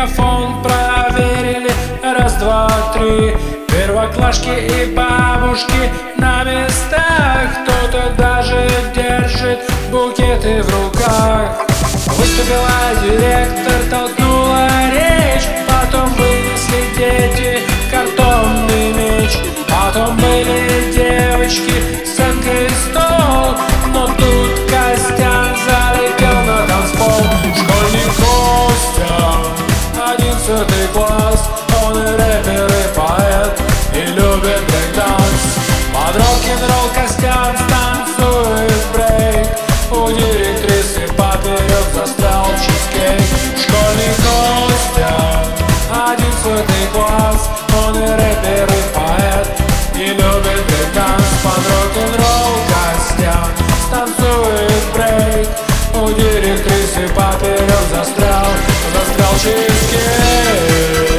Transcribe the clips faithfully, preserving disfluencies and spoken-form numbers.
мегафон проверили. Раз, два, три. Первоклашки и бабушки на местах. Кто-то даже держит букеты в руках. Выступила директор, толкнула речь. Потом вынесли дети картонный меч. Потом были девочки, сценка и стол. Но тут Костян залетел на танцпол. Школьник Костя, одиннадцатый класс. Он и рэпер, и поэт, и любит брейк-данс. Под рок-н-ролл Костян станцует брейк. У директрисы поперек застрял чизкейк. Школьник Костя, одиннадцатый класс. Он и рэпер, и поэт, и любит брейк-данс. Под рок-н-ролл Костян станцует брейк. У директрисы поперек застрял, застрял чизкейк.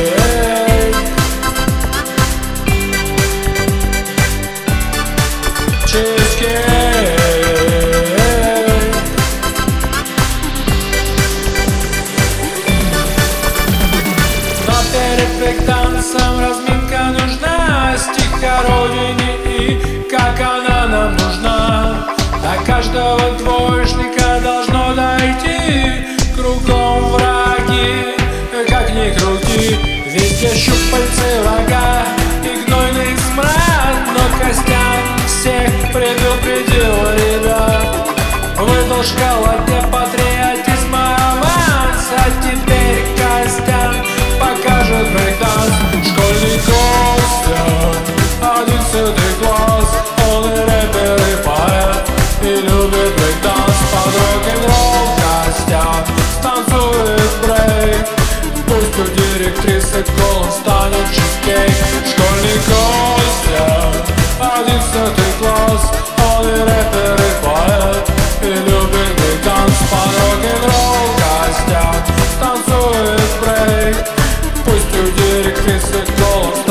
Брейк-дансом разминка нужна. Стих о родине и как она нам нужна. До каждого двоечника должно дойти. Кругом враги, как ни крути. Везде щупальцы врага и гнойный смрад. Но Костян всех предупредил, ребят. Выдал школоте патриотизма аванс. А теперь Костян покажет брейк-данс. Школьник Костя, одиннадцатый класс. Он и рэпер, и поэт, и любит брейк-данс. Под рок-н-ролл Костян станцует брейк. Пусть у директрисы голым станет чизкейк. Школьник Костя, одиннадцатый класс. Он и рэпер, и поэт, и любит брейк-данс. Под рок-н-ролл Костян станцует брейк. Пусть у директрисы голос